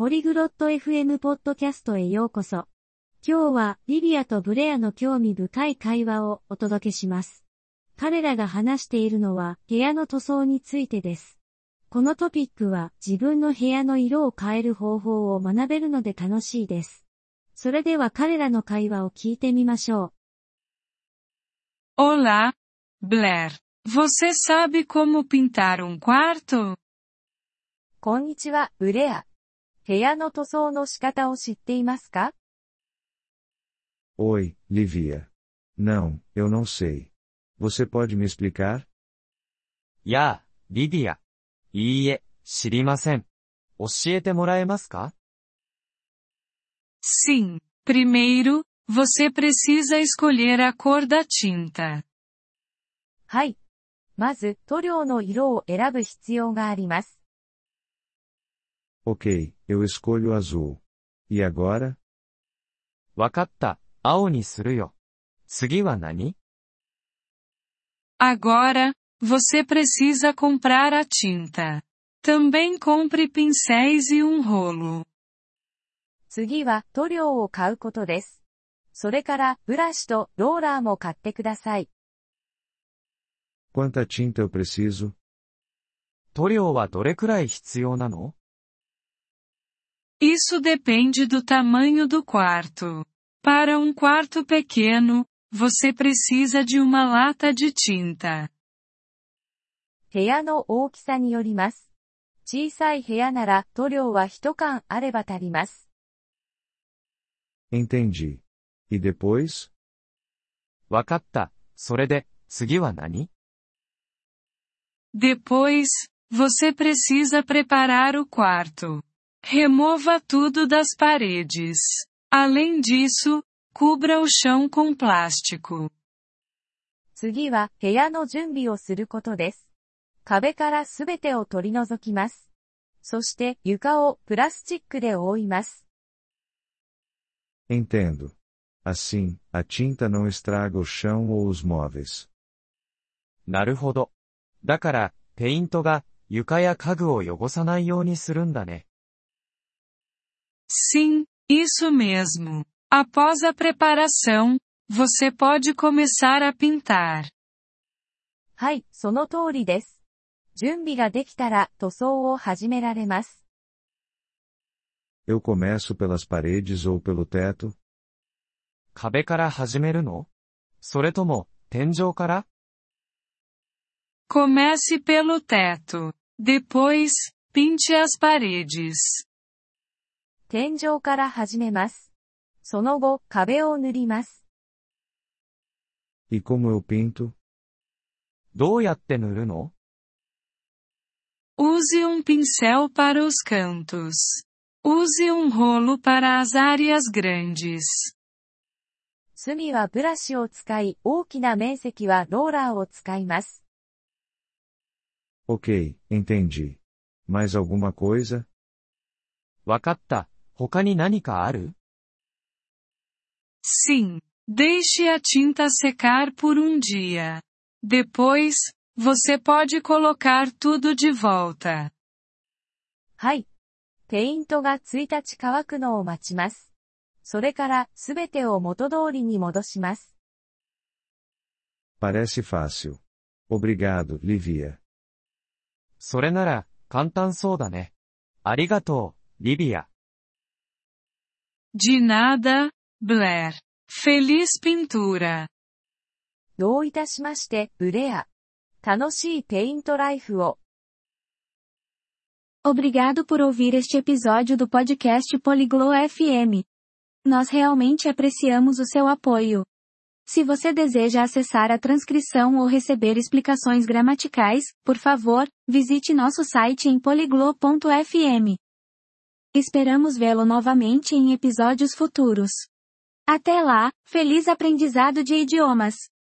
ポリグロット FM ポッドキャストへようこそ。今日はリビアとブレアの興味深い会話をお届けします。彼らが話しているのは部屋の塗装についてです。このトピックは自分の部屋の色を変える方法を学べるので楽しいです。それでは彼らの会話を聞いてみましょう。Olá, Blair. Você sabe como pintar quarto? こんにちは、ブレア。部屋の塗装の仕方を知っていますか？ Oi, Livia. Não, eu não sei. Você pode me explicar? やあ、リディア。いいえ、知りません。教えてもらえますか？ Sim. Primeiro, você precisa escolher a cor da tinta. はい。まず、塗料の色を選ぶ必要があります。 Ok, eu escolho azul. E agora? わかった、青にするよ。次は何？ Agora, você precisa comprar a tinta. Também compre pincéis e rolo. 次は塗料を買うことです。それからブラシとローラーも買ってください。 Quanta tinta eu preciso? 塗料はどれくらい必要なの？ Isso depende do tamanho do quarto. Para quarto pequeno, você precisa de uma lata de tinta. 部屋の大きさによります。小さい部屋なら塗料は1缶あれば足ります。 Entendi. E depois? わかった。それで、次は何？ Depois, você precisa preparar o quarto. Remova tudo das paredes. Além disso, cubra o chão com plástico. 次は部屋の準備をすることです。壁からすべてを取り除きます。そして床をプラスチックで覆います。 Entendo. Assim, a tinta não estraga o chão ou os móveis. なるほど。だから、ペイントが床や家具を汚さないようにするんだね。 Sim, isso mesmo. Após a preparação, você pode começar a pintar. はい、その通りです。準備ができたら塗装を始められます。 Eu começo pelas paredes ou pelo teto? 壁から始めるの？それとも、天井から？ Comece pelo teto. Depois, pinte as paredes. 天井から始めます。その後、壁を塗ります。 E como eu pinto? どうやって塗るの？ Use pincel para os cantos. Use rolo para as áreas grandes. 隅はブラシを使い、大きな面積はローラーを使います。 Ok, entendi. Mais alguma coisa? わかった。他に何かある？ Sim. Deixe a tinta secar por dia. Depois, você pode colocar tudo de volta. はい。ペイントが1日乾くのを待ちます。それからすべてを元通りに戻します。 Parece fácil. Obrigado, Livia. それなら、簡単そうだね。ありがとう、リビア。 De nada, Blair. Feliz pintura. どういたしまして、ブレア。楽しいペイントライフを。 Obrigado por ouvir este episódio do podcast Poliglo FM. Nós realmente apreciamos o seu apoio. Se você deseja acessar a transcrição ou receber explicações gramaticais, por favor, visite nosso site em poliglo.fm. Esperamos vê-lo novamente em episódios futuros. Até lá, feliz aprendizado de idiomas!